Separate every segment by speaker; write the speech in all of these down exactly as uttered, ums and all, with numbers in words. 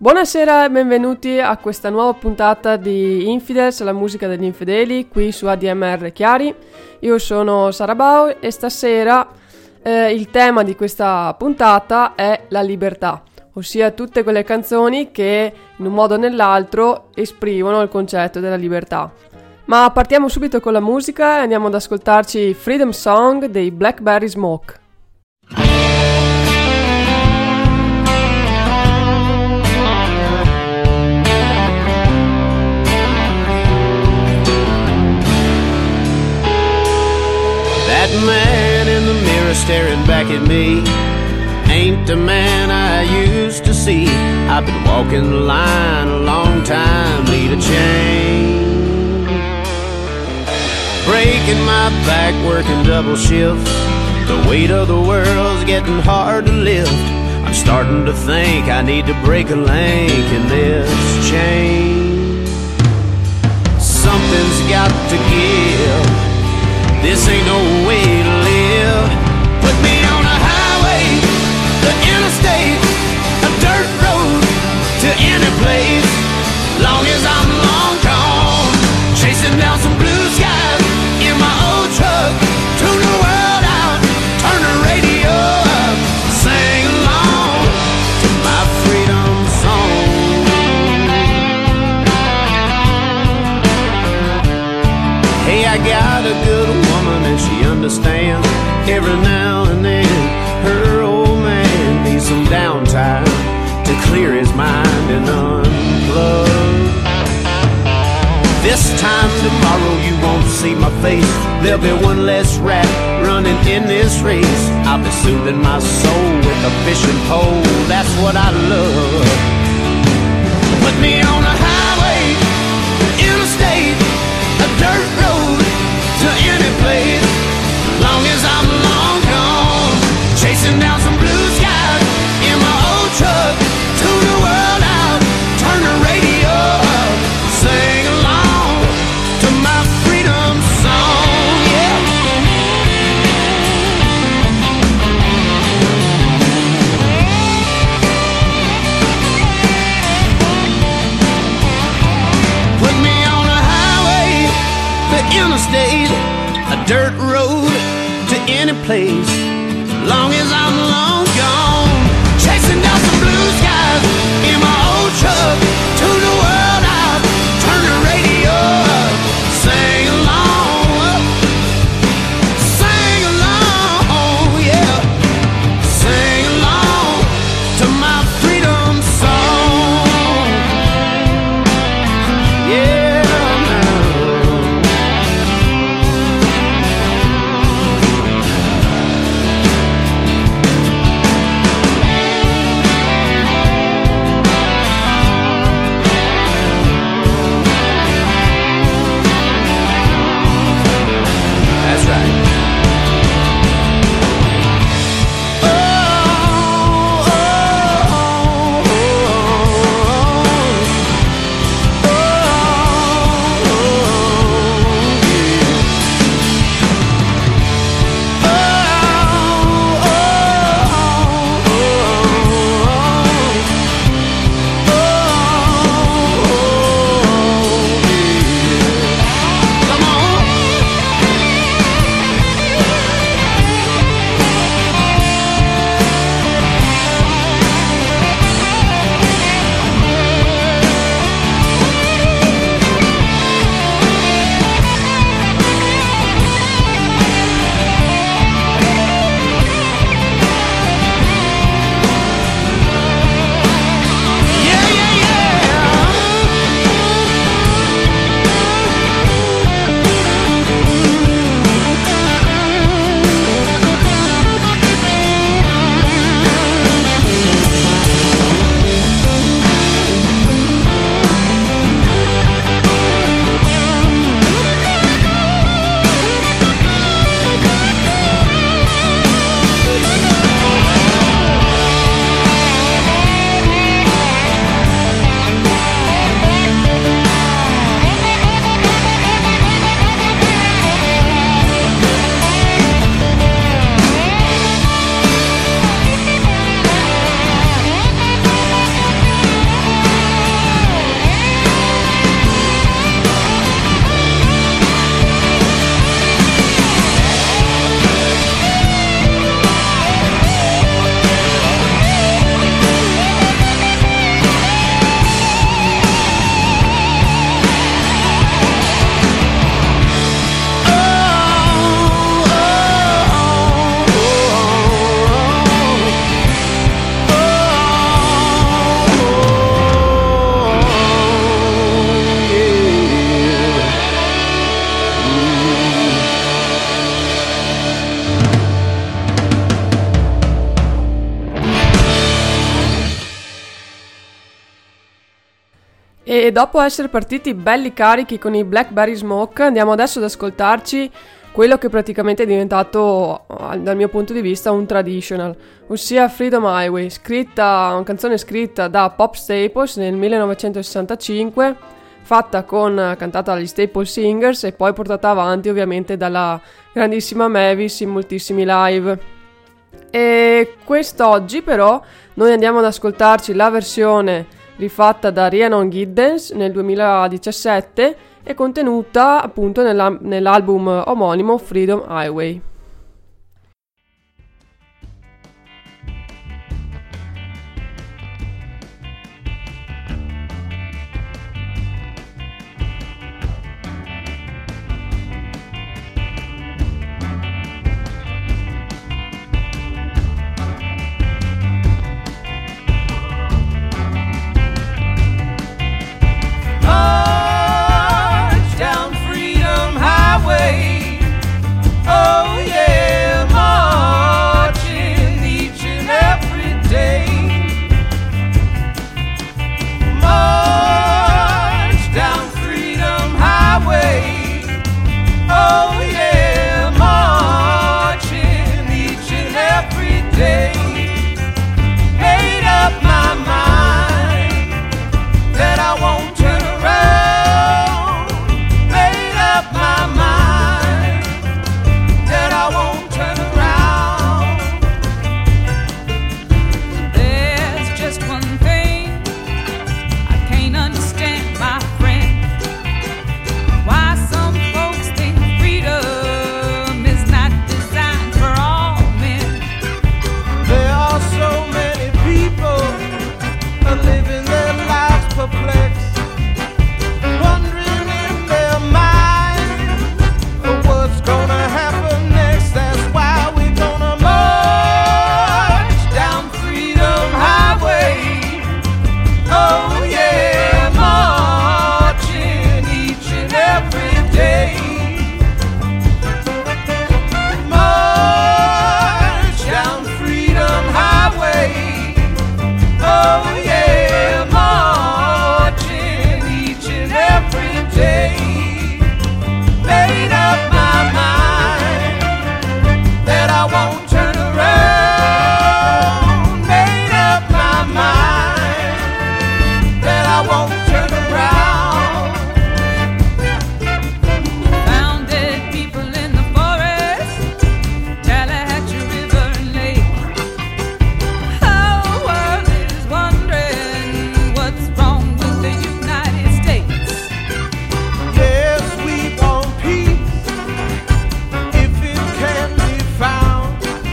Speaker 1: Buonasera e benvenuti a questa nuova puntata di Infidels, la musica degli infedeli, qui su A D M R Chiari. Io sono Sara Bau e stasera eh, il tema di questa puntata è la libertà, ossia tutte quelle canzoni che in un modo o nell'altro esprimono il concetto della libertà. Ma partiamo subito con la musica e andiamo ad ascoltarci Freedom Song dei Blackberry Smoke.
Speaker 2: That man in the mirror staring back at me ain't the man I used to see. I've been walking the line a long time, need a change. Breaking my back, working double shift. The weight of the world's getting hard to lift. I'm starting to think I need to break a link in this chain. Something's got to give. This ain't no way to live. Put me on a highway, the interstate, a dirt road to any place. Long as I'm long gone, chasing down some blue skies in my old truck. Tune the world out, turn the radio up, sing along to my freedom song. Hey, I got a good woman and she understands. Every now and then her old man needs some downtime to clear his mind and unplug. This time tomorrow you won't see my face. There'll be one less rat running in this race. I'll be soothing my soul with a fishing pole. That's what I love. Put me on a highway, interstate, a dirt road to any place. Long as I'm long gone, chasing down some blue skies in my old truck. Tune the world out, turn the radio up, sing along to my freedom song, yeah. Put me on a highway, the interstate, a dirt road to any place. Long as I'm long gone, chasing down some blue skies in my old truck. Tune the world out, turn the radio up, sing along, sing along, yeah, sing along to my freedom song, yeah.
Speaker 1: E dopo essere partiti belli carichi con i Blackberry Smoke, andiamo adesso ad ascoltarci quello che praticamente è diventato, dal mio punto di vista, un traditional, ossia Freedom Highway, scritta, una canzone scritta da Pop Staples nel millenovecentosessantacinque, fatta con, cantata dagli Staple Singers e poi portata avanti ovviamente dalla grandissima Mavis in moltissimi live. E quest'oggi però noi andiamo ad ascoltarci la versione rifatta da Rhiannon Giddens nel duemiladiciassette e contenuta appunto nella, nell'album omonimo Freedom Highway.
Speaker 2: If it can be found,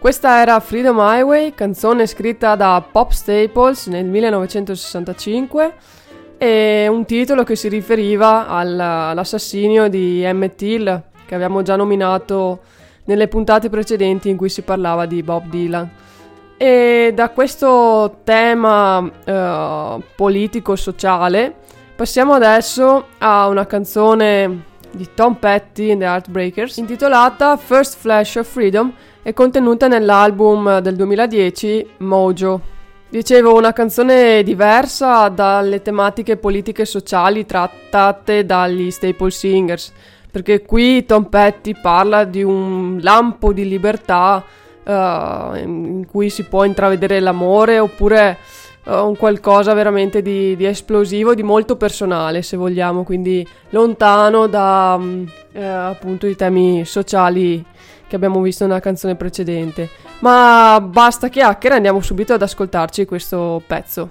Speaker 1: Questa era Freedom Highway, canzone scritta da Pop Staples nel millenovecentosessantacinque e un titolo che si riferiva al, all'assassinio di Emmett Till, che abbiamo già nominato nelle puntate precedenti in cui si parlava di Bob Dylan. E da questo tema eh, politico-sociale passiamo adesso a una canzone di Tom Petty and the Heartbreakers intitolata First Flash of Freedom e contenuta nell'album del duemiladieci Mojo. Dicevo, una canzone diversa dalle tematiche politiche e sociali trattate dagli Staple Singers, perché qui Tom Petty parla di un lampo di libertà uh, in cui si può intravedere l'amore, oppure uh, un qualcosa veramente di, di esplosivo, di molto personale, se vogliamo, quindi lontano da um, eh, appunto i temi sociali che abbiamo visto nella canzone precedente. Ma basta chiacchiere, andiamo subito ad ascoltarci questo pezzo.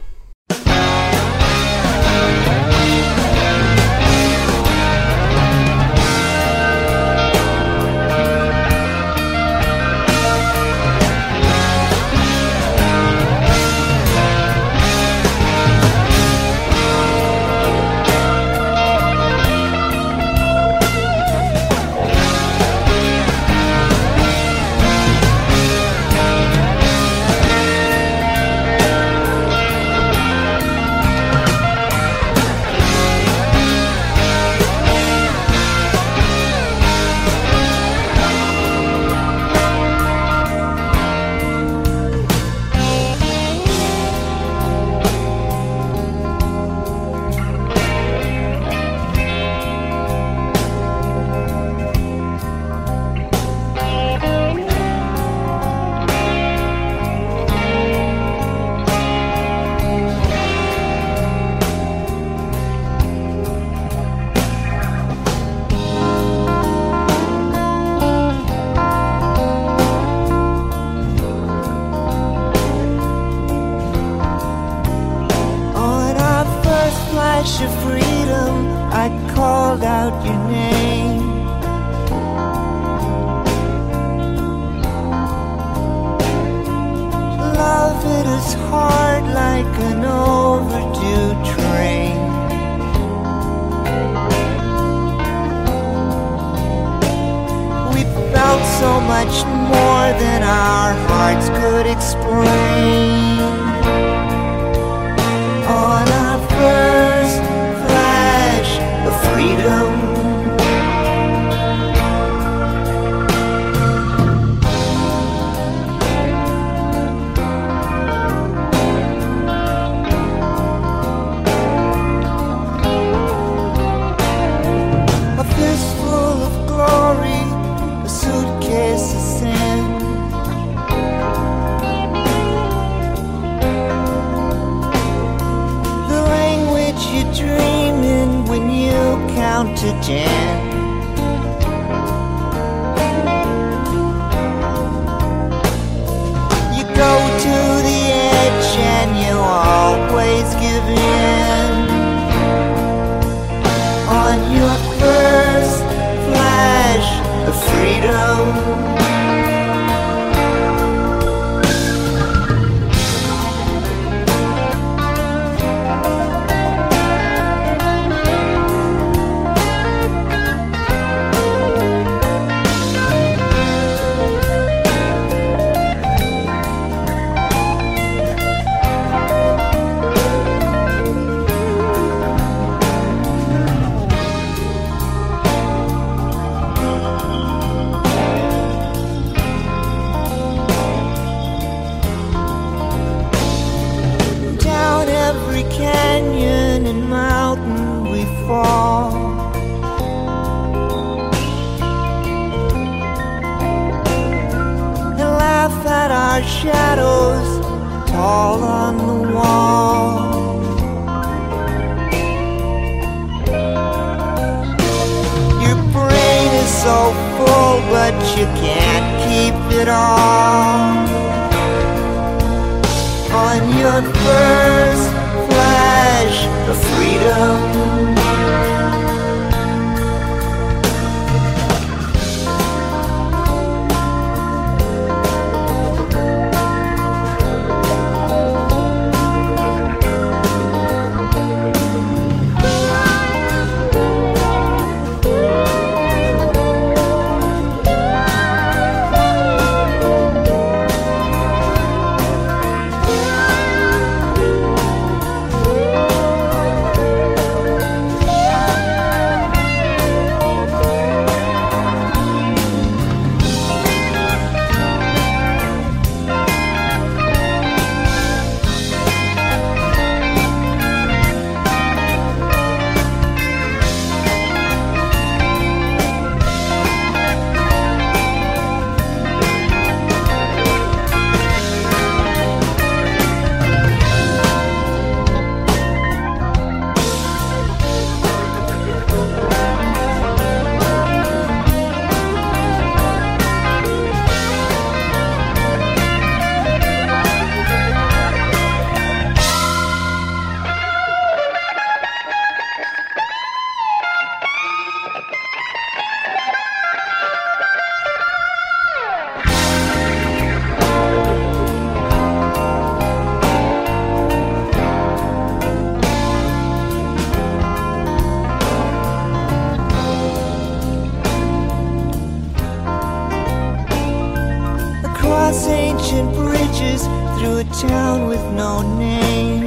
Speaker 3: across ancient bridges through a town with no name.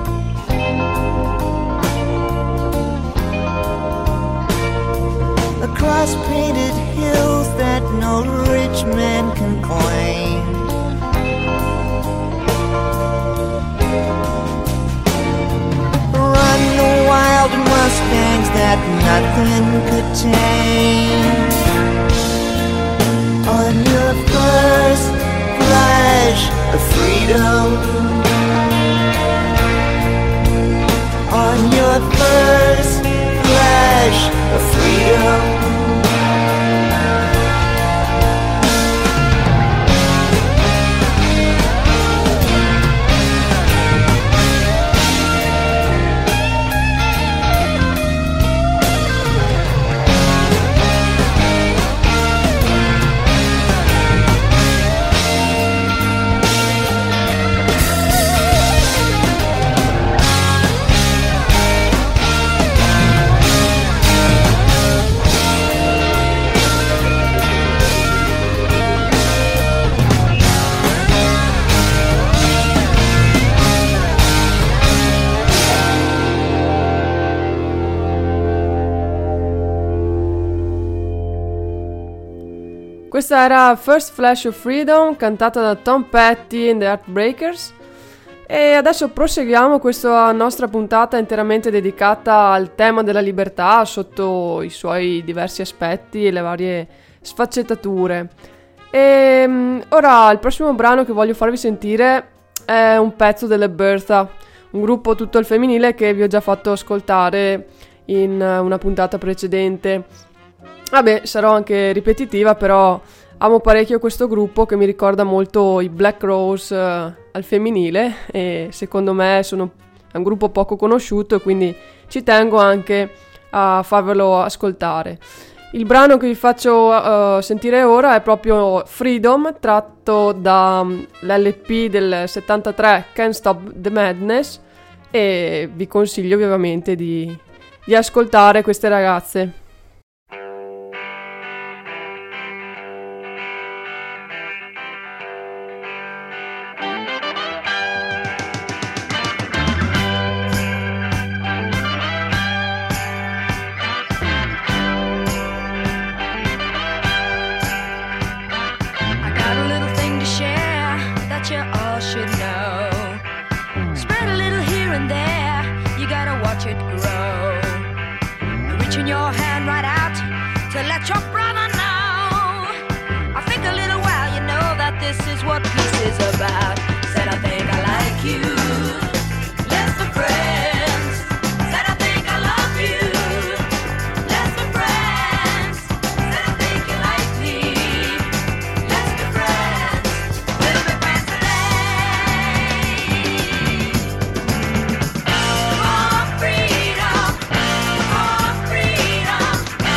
Speaker 3: Across painted hills that no rich man can claim. Run the wild mustangs that nothing could tame. On your first flash of freedom, on your first flash of freedom.
Speaker 1: Questa era First Flash of Freedom, cantata da Tom Petty and the Heartbreakers. E adesso proseguiamo questa nostra puntata interamente dedicata al tema della libertà sotto i suoi diversi aspetti e le varie sfaccettature. E ora il prossimo brano che voglio farvi sentire è un pezzo delle Bertha, un gruppo tutto al femminile che vi ho già fatto ascoltare in una puntata precedente. Vabbè, sarò anche ripetitiva, però amo parecchio questo gruppo che mi ricorda molto i Black Rose uh, al femminile, e secondo me sono un gruppo poco conosciuto e quindi ci tengo anche a farvelo ascoltare. Il brano che vi faccio uh, sentire ora è proprio Freedom, tratto dall'L P del settantatré Can't Stop the Madness, e vi consiglio vivamente di, di ascoltare queste ragazze.
Speaker 4: Freedom,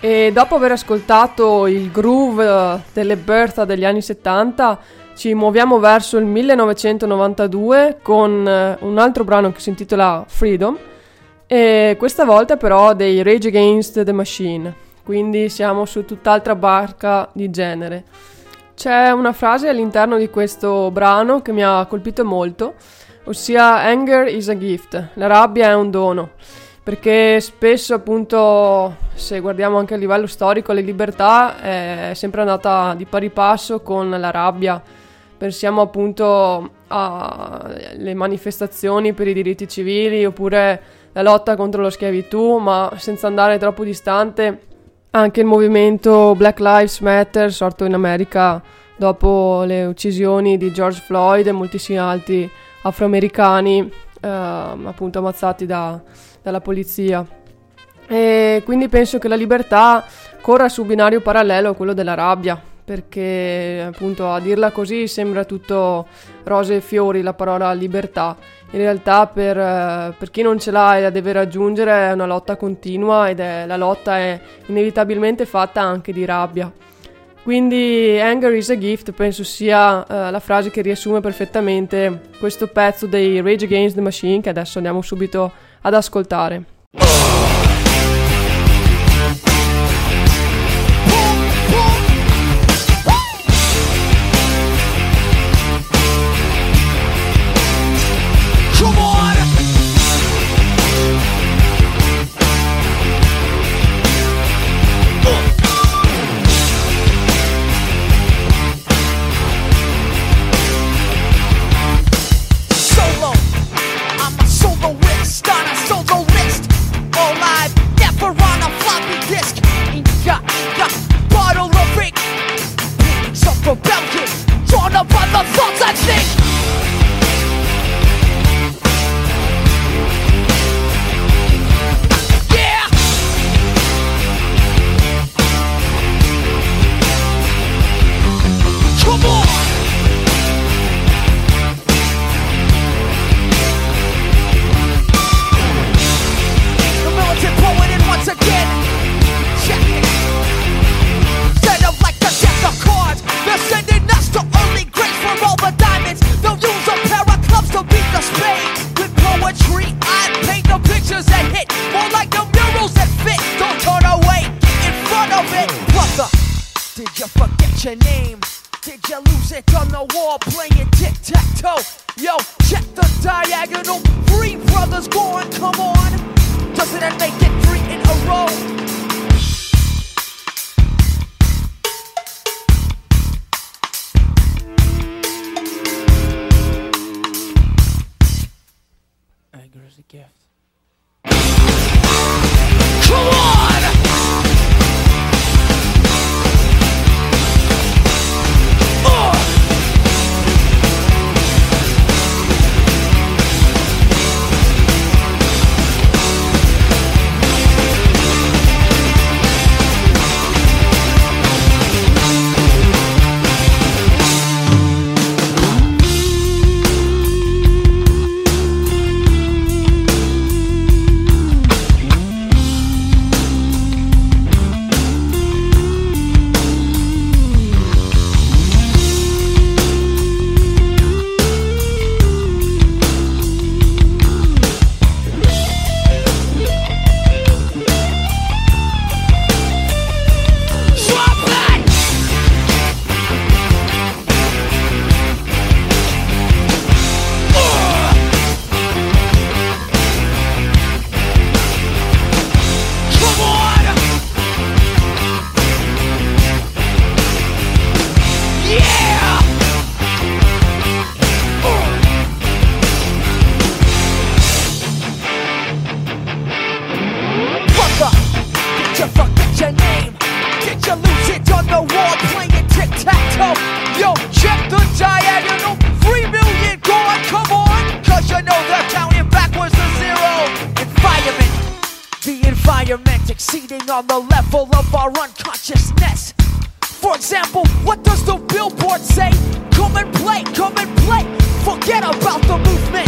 Speaker 1: E dopo aver ascoltato il groove delle Bertha degli anni settanta, ci muoviamo verso il millenovecentonovantadue con un altro brano che si intitola Freedom, e questa volta però dei Rage Against the Machine, quindi siamo su tutt'altra barca di genere. C'è una frase all'interno di questo brano che mi ha colpito molto, ossia "Anger is a gift", la rabbia è un dono. Perché spesso, appunto, se guardiamo anche a livello storico, la libertà è sempre andata di pari passo con la rabbia. Pensiamo appunto alle manifestazioni per i diritti civili oppure la lotta contro la schiavitù, ma senza andare troppo distante, anche il movimento Black Lives Matter, sorto in America dopo le uccisioni di George Floyd e moltissimi altri afroamericani eh, appunto ammazzati da dalla polizia. E quindi penso che la libertà corra su binario parallelo a quello della rabbia, perché appunto a dirla così sembra tutto rose e fiori la parola libertà. In realtà per, per chi non ce l'ha e la deve raggiungere è una lotta continua, ed è la lotta è inevitabilmente fatta anche di rabbia. Quindi "Anger is a gift" penso sia uh, la frase che riassume perfettamente questo pezzo dei Rage Against the Machine, che adesso andiamo subito ad ascoltare.
Speaker 4: On the level of our unconsciousness. For example, what does the billboard say? Come and play, come and play. Forget about the movement.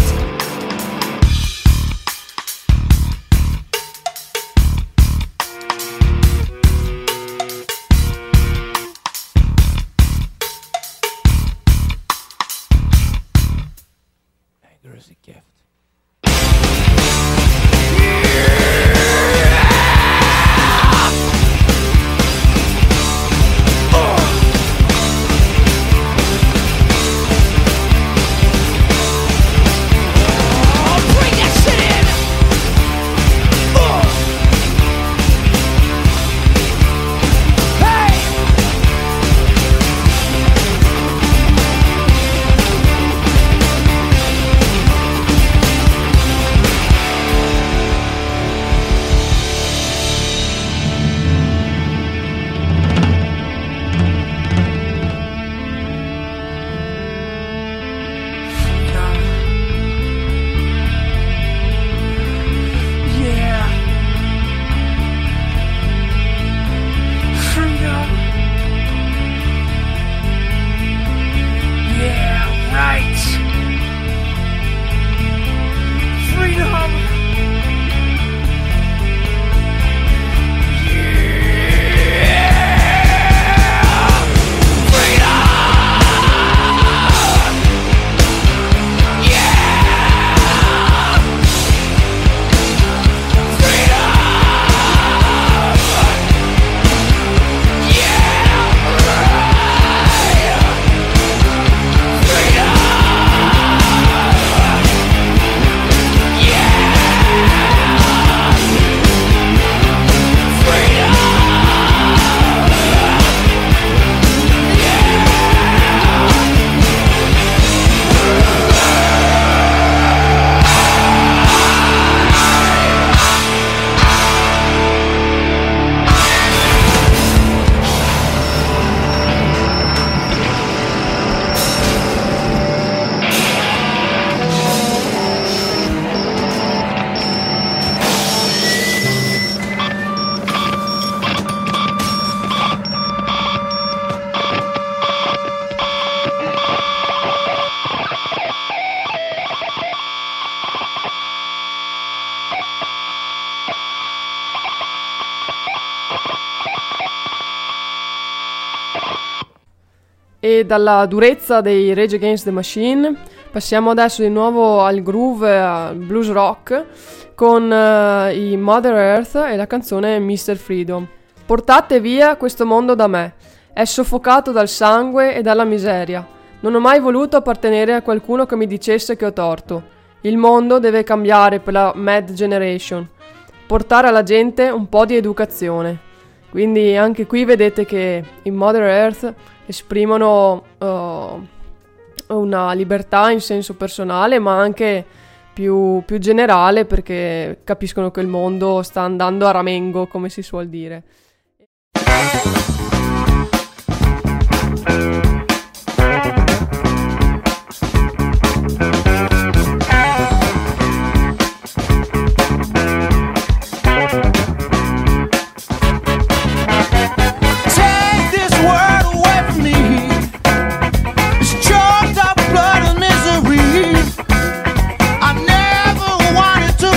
Speaker 1: e dalla durezza dei Rage Against the Machine passiamo adesso di nuovo al groove, al blues rock, con uh, i Mother Earth e la canzone mister Freedom. Portate via questo mondo da me, è soffocato dal sangue e dalla miseria. Non ho mai voluto appartenere a qualcuno che mi dicesse che ho torto. Il mondo deve cambiare per la Mad Generation, portare alla gente un po' di educazione. Quindi anche qui vedete che i Mother Earth esprimono uh, una libertà in senso personale, ma anche più, più generale, perché capiscono che il mondo sta andando a ramengo, come si suol dire.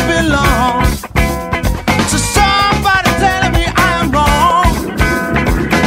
Speaker 2: Somebody telling me I'm wrong.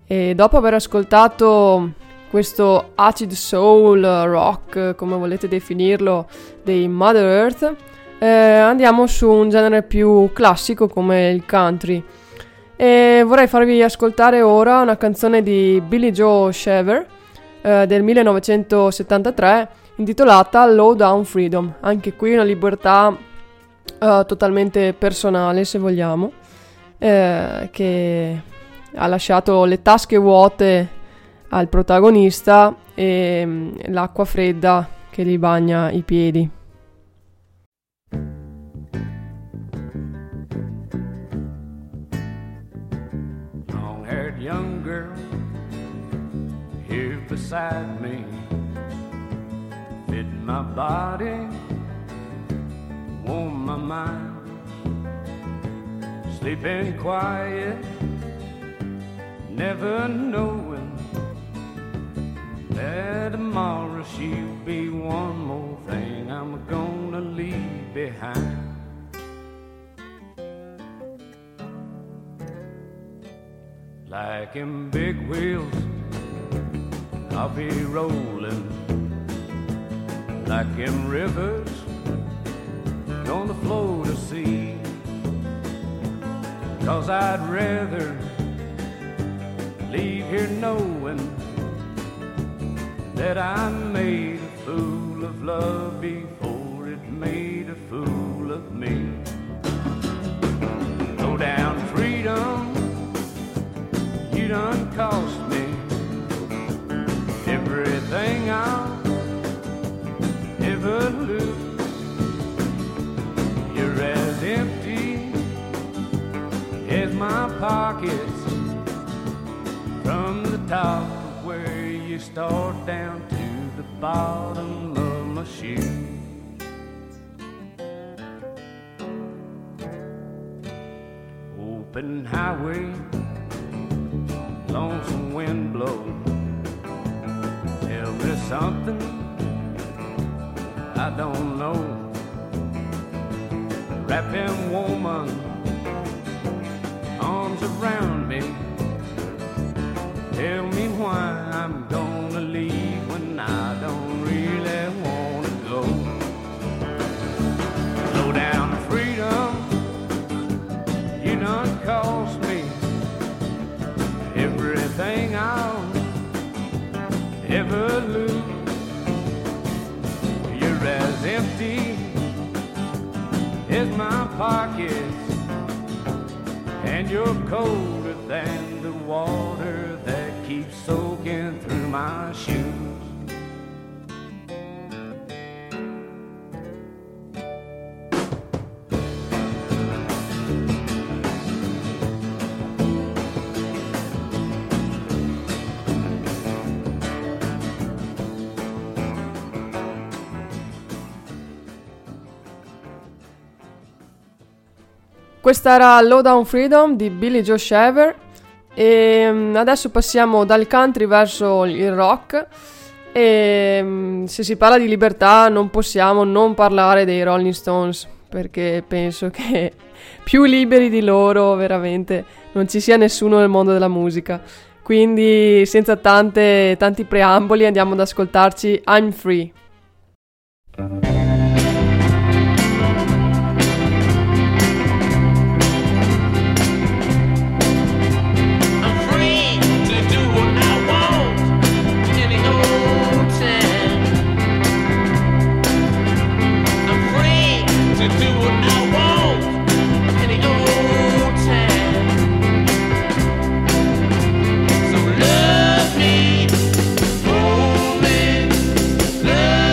Speaker 1: E dopo aver ascoltato questo acid soul rock, come volete definirlo, dei Mother Earth, eh, andiamo su un genere più classico come il country. E vorrei farvi ascoltare ora una canzone di Billy Joe Shaver eh, del millenovecentosettantatré, intitolata Low Down Freedom. Anche qui una libertà eh, totalmente personale, se vogliamo, eh, che ha lasciato le tasche vuote al protagonista e mm, l'acqua fredda che gli bagna i piedi.
Speaker 2: Long-haired young girl here beside me, fit my body, warm my mind, sleeping quiet, never knowing that tomorrow she'll be one more thing I'm gonna leave behind. Like in big wheels, I'll be rolling. Like in rivers, gonna flow to sea. 'Cause I'd rather leave here knowing that I made a fool of love before it made a fool of me. Low down freedom, you done cost me everything I'll ever lose. You're as empty as my pockets, from the top of where you start down to the bottom of my shoe. Open highway, lonesome wind blow, tell me something I don't know. Wrapping woman, arms around me, tell me why I'm gonna leave when I don't really wanna go. Slow down freedom, you done cost me everything I'll ever lose. You're as empty as my pockets, and you're colder than the water that keeps soaking through my shoes.
Speaker 1: Questa era Low Down Freedom di Billy Joe Shaver. E adesso passiamo dal country verso il rock. E se si parla di libertà non possiamo non parlare dei Rolling Stones, perché penso che più liberi di loro veramente non ci sia nessuno nel mondo della musica. Quindi senza tante, tanti preamboli andiamo ad ascoltarci I'm Free.
Speaker 5: Love me, hold me, love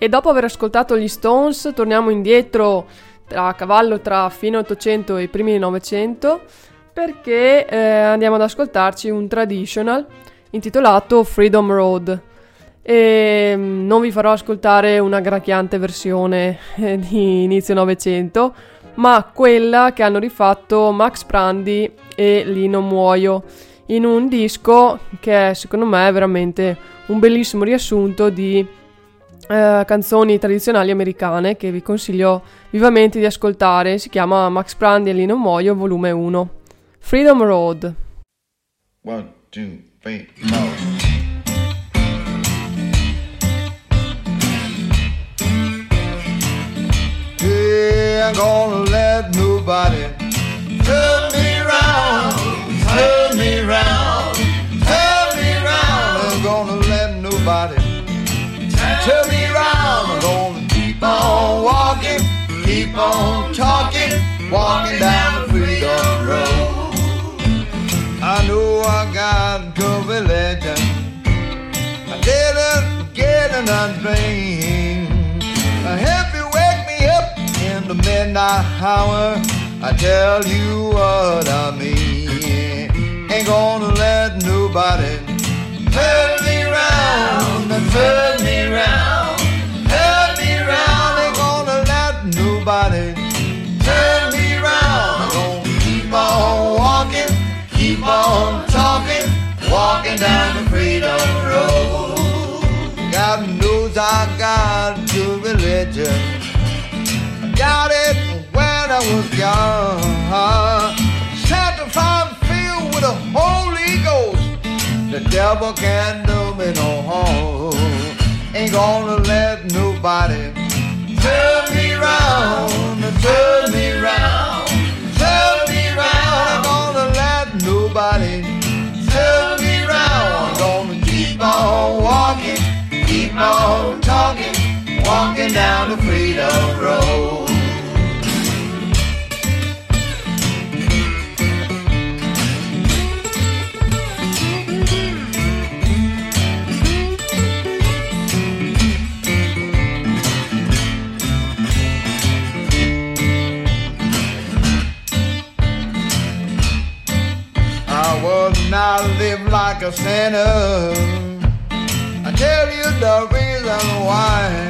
Speaker 1: E dopo aver ascoltato gli Stones torniamo indietro tra, a cavallo tra fine ottocento e primi novecento, perché eh, andiamo ad ascoltarci un traditional intitolato Freedom Road. E non vi farò ascoltare una gracchiante versione eh, di inizio novecento, ma quella che hanno rifatto Max Prandi e Lino Muoio in un disco che è, secondo me, è veramente un bellissimo riassunto di eh, canzoni tradizionali americane che vi consiglio vivamente di ascoltare. Si chiama Max Prandi e Lino Muoio volume uno. Freedom Road.
Speaker 5: One, two, three, four. I ain't gonna let nobody turn me round, turn me round, turn me round. I ain't gonna let nobody turn me round. I'm gonna keep on walking, keep on talking, walking down the freedom road. I know I got good religion, I didn't get an undrained. Help me wake me up in the midnight hour, I tell you what I mean. Ain't gonna let nobody turn me round, turn me round, turn me round. Ain't gonna let nobody turn me round. I'm gonna keep on walking, keep on talking, walking down the freedom road. God knows I got good religion, got it when I was young. Sanctified, filled with the Holy Ghost, the devil can't do me no harm. Ain't gonna let nobody turn me round, turn me round, turn me round. Ain't gonna let nobody turn me round. I'm gonna keep on walking, keep on talking, walking down the freedom road. I would not live like a sinner, I tell you the reason why.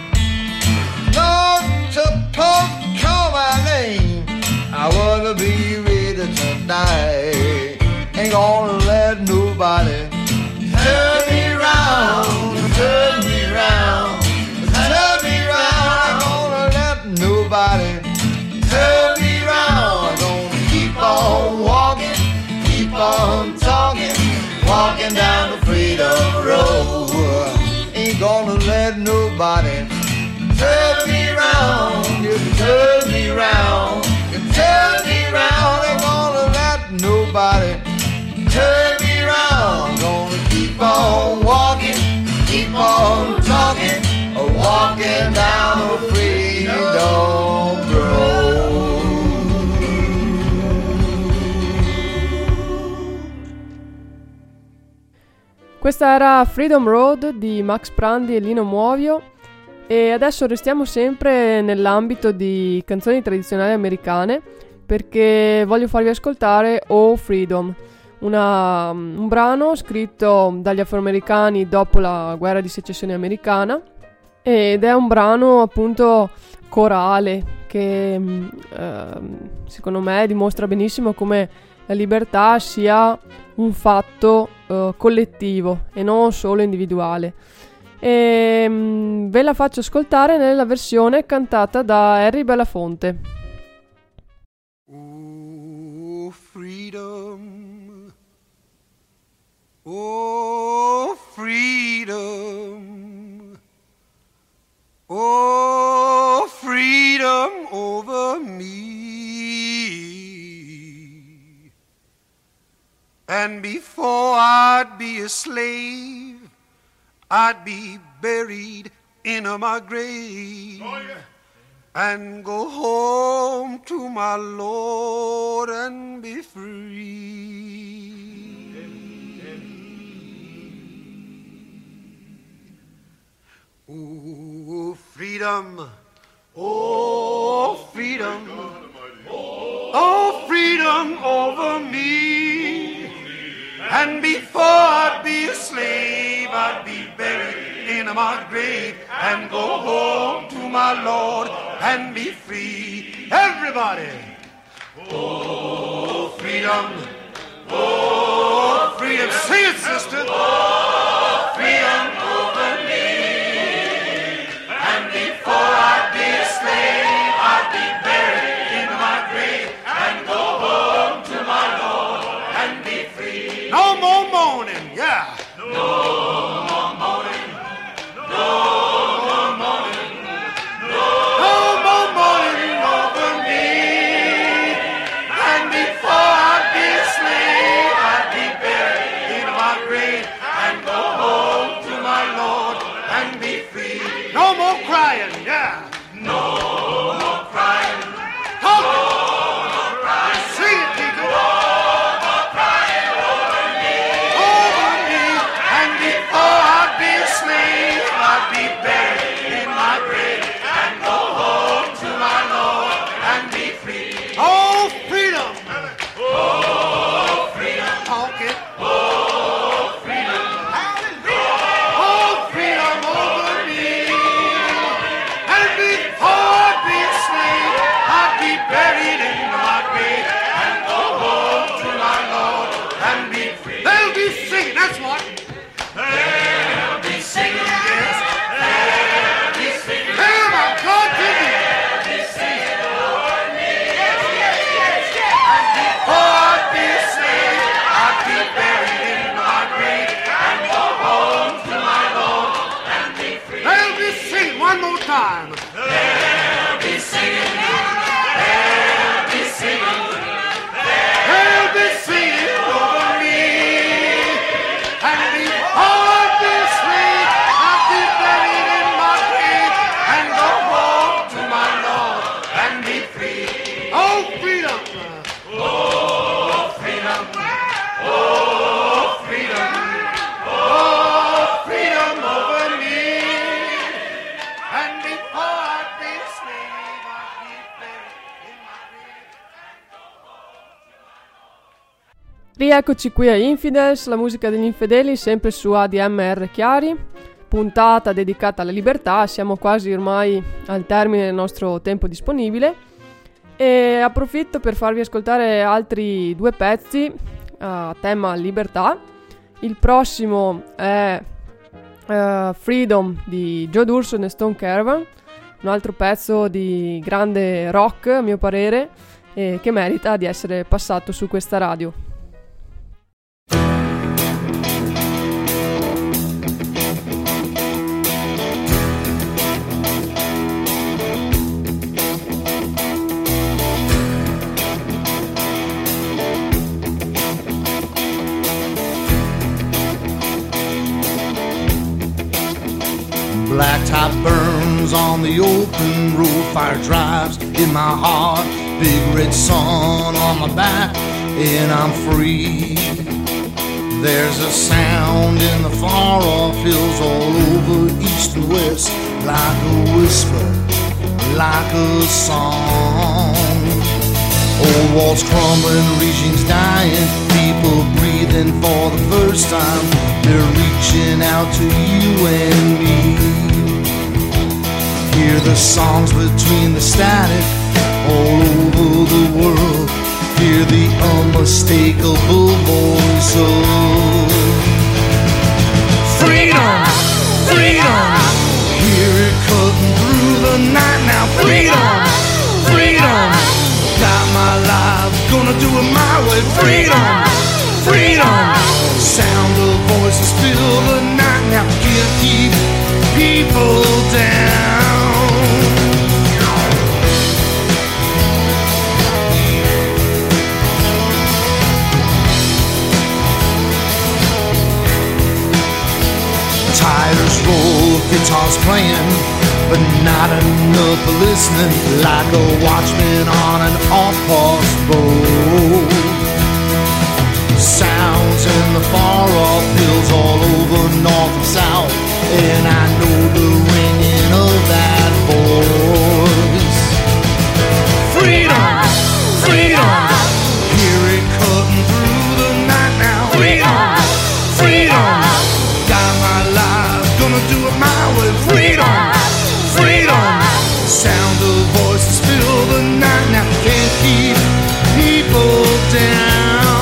Speaker 5: Not to talk, call my name, I wanna be ready to die. Ain't gonna let nobody turn me round, turn me round, turn me round. Ain't gonna let nobody turn me round. I'm gonna keep on walking, keep on talking, walking down the freedom road. Ain't gonna let nobody turn me round, you turn me round, you turn me round. Ain't gonna let nobody turn me round. Gonna keep on walking, keep on talking, walking down the freedom road.
Speaker 1: Questa era Freedom Road di Max Prandi e Lino Muoio. E adesso restiamo sempre nell'ambito di canzoni tradizionali americane, perché voglio farvi ascoltare Oh Freedom, una, un brano scritto dagli afroamericani dopo la guerra di secessione americana, ed è un brano appunto corale che eh, secondo me dimostra benissimo come la libertà sia un fatto eh, collettivo e non solo individuale. E mh, ve la faccio ascoltare nella versione cantata da Harry Belafonte.
Speaker 6: Oh freedom, oh freedom, oh freedom over me. And before I'd be a slave, I'd be buried in my grave. Oh, yeah. And go home to my Lord and be free. Oh, freedom. Oh, freedom. Oh, freedom over me. And before I'd be a slave, I'd be buried in my grave and go home to my Lord and be free. Everybody. Oh, freedom. Oh, freedom. Sing it, sister. Oh, freedom over me. And before I'd be a slave, I'd be buried in my grave and go home to my Lord and be free. No more mourning, yeah. No more mourning. No more mourning. No more mourning over me. And before I'd be a slave, I'd be buried in my grave and go home to my Lord and be free. No more crying, yeah. No more crying. Talk it. No more crying. Sing it, people. No more crying over me. Over me. And before I'd be a slave, I'd be buried in my grave and go home to my Lord and be free. Oh, freedom. Oh, freedom. Talk it. Oh, freedom. Oh, freedom over me. And before I'd be a slave, I'd be buried in my grave and go home to my Lord and be free. They'll be singing, that's what. They'll be singing, yes. They'll be singing. Hey, my God, give me. They'll be singing over me. Yes, yes, yes, yes. And before I'd be a slave, I'd be buried in my grave and go home to my Lord and be free. They'll be singing one more time. They'll be singing. They'll be singing. They'll be singing over me. And before I'd be a slave, I'd be buried in my grave and go home to my Lord and be free. Oh, freedom. Oh, freedom. Oh, freedom. Oh, freedom over me. And before I'd be a slave, I'd be buried in my grave and go home to my Lord.
Speaker 1: Rieccoci qui a Infidels, la musica degli infedeli, sempre su A D M R Chiari, puntata dedicata alla libertà. Siamo quasi ormai al termine del nostro tempo disponibile e approfitto per farvi ascoltare altri due pezzi a tema libertà. Il prossimo è uh, Freedom di Joe D'Urso e Stone Caravan, un altro pezzo di grande rock a mio parere e che merita di essere passato su questa radio.
Speaker 5: Blacktop burns on the open road, fire drives in my heart, big red sun on my back, and I'm free. There's a sound in the far off hills all over east and west, like a whisper, like a song. Old walls crumbling, regimes dying, people breathing for the first time. They're reaching out to you and me. Hear the songs between the static all over the world. Hear the unmistakable voice of freedom, freedom. Hear it cutting through the night now. Freedom, freedom. Got my life, gonna do it my way. Freedom, freedom. Sound of voices fill the night now. Can't keep people down. Tires roll, guitars playing, but not enough for listening. Like a watchman on an off-post road. Sounds in the far-off hills all over north and south,
Speaker 3: and I know the ringing of that voice. Freedom, freedom, hear it cutting through the night now. Freedom, freedom, got my life, gonna do it my way. Freedom, freedom, sound of voices fill the night now. Can't keep people down.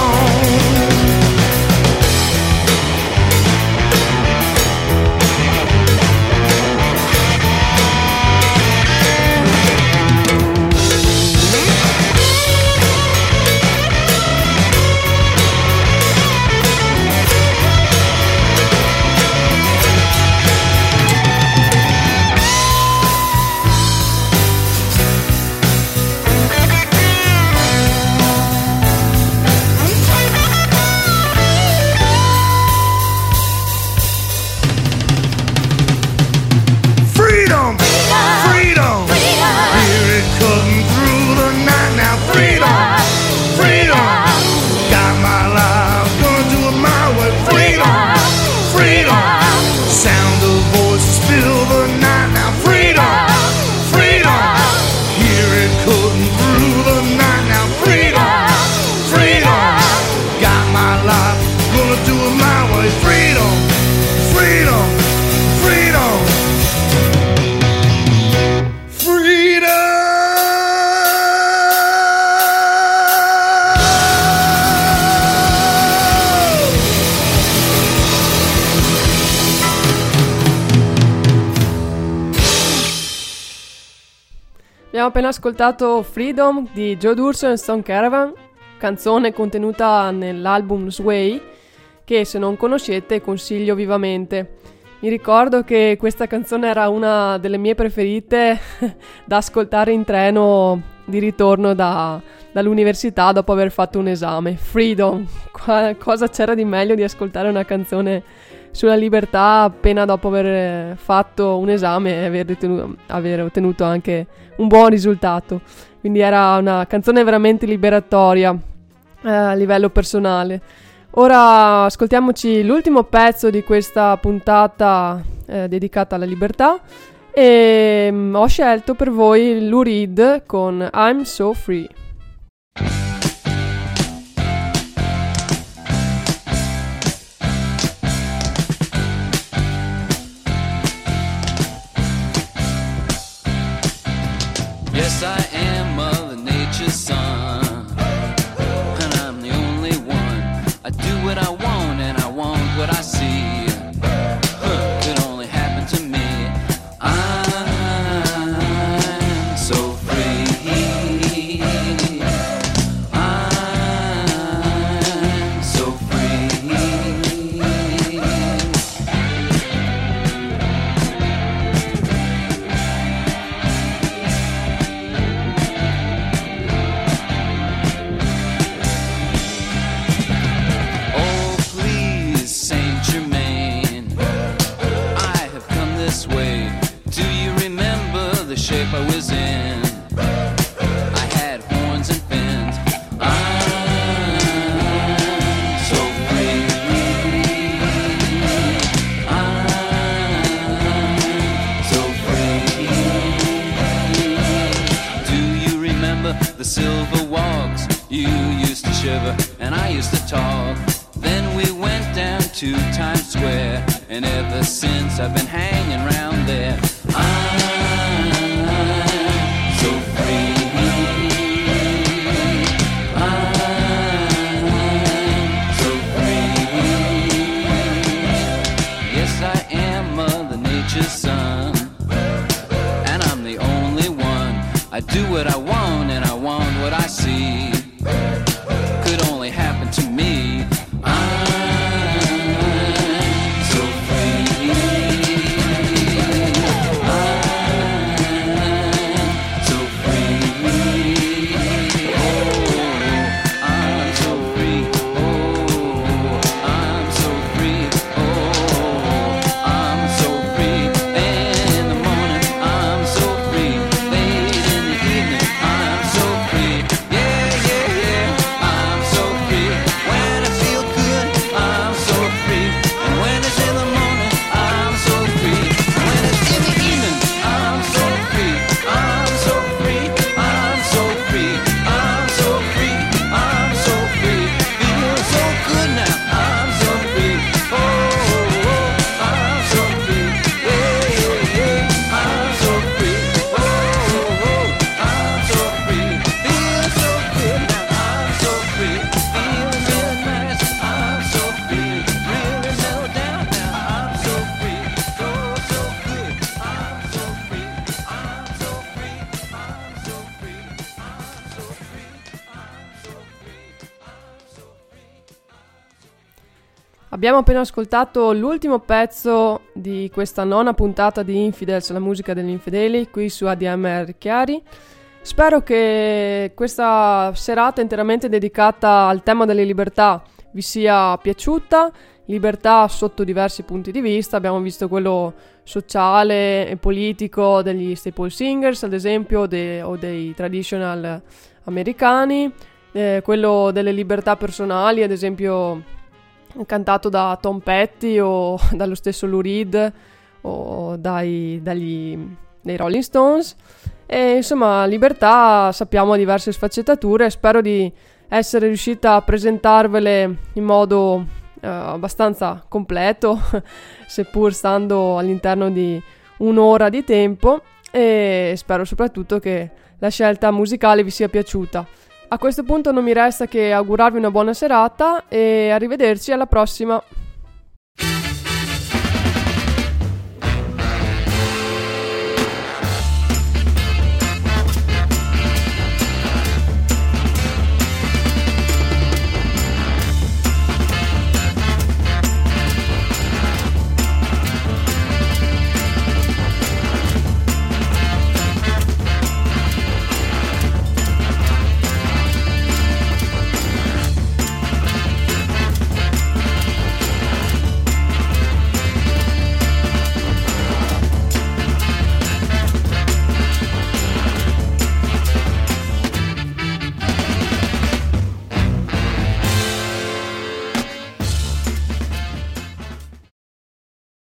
Speaker 1: Abbiamo appena ascoltato Freedom di Joe D'Urso e Stone Caravan, canzone contenuta nell'album Sway, che se non conoscete consiglio vivamente. Mi ricordo che questa canzone era una delle mie preferite da ascoltare in treno di ritorno da, dall'università dopo aver fatto un esame. Freedom, Qua, cosa c'era di meglio di ascoltare una canzone sulla libertà appena dopo aver fatto un esame e aver, ritenuto, aver ottenuto anche un buon risultato. Quindi era una canzone veramente liberatoria eh, a livello personale. Ora ascoltiamoci l'ultimo pezzo di questa puntata eh, dedicata alla libertà e mh, ho scelto per voi Lou Reed con I'm So Free.
Speaker 7: Yes, I am Mother Nature's son, and I'm the only one. I do what I want, and I want what I see. Huh, could only happen to me. I'm so free. I'm so free. Shape I was in, I had horns and fins. I'm so free. I'm so free. Do you remember the silver walks? You used to shiver and I used to talk. Then we went down to Times Square, and ever since I've been hanging around there. I'm son, and I'm the only one. I do what I want, and I want what I see. Could only happen to me. I'm so free. I'm so free. Oh, I'm so free. Oh, I'm so free. Oh, I'm so free. In the morning, I'm so free. Late in the evening, I'm so free. Yeah, yeah, yeah, I'm so free. When I feel
Speaker 1: Abbiamo appena ascoltato l'ultimo pezzo di questa nona puntata di Infidels, la musica degli infedeli, qui su A D M R Chiari. Spero che questa serata interamente dedicata al tema delle libertà vi sia piaciuta. Libertà sotto diversi punti di vista, abbiamo visto quello sociale e politico degli staple singers, ad esempio, de- o dei traditional americani, eh, quello delle libertà personali, ad esempio cantato da Tom Petty o dallo stesso Lou Reed o dai, dagli, dai Rolling Stones. E insomma, libertà sappiamo ha diverse sfaccettature. Spero di essere riuscita a presentarvele in modo uh, abbastanza completo seppur stando all'interno di un'ora di tempo, e spero soprattutto che la scelta musicale vi sia piaciuta. A questo punto non mi resta che augurarvi una buona serata e arrivederci alla prossima.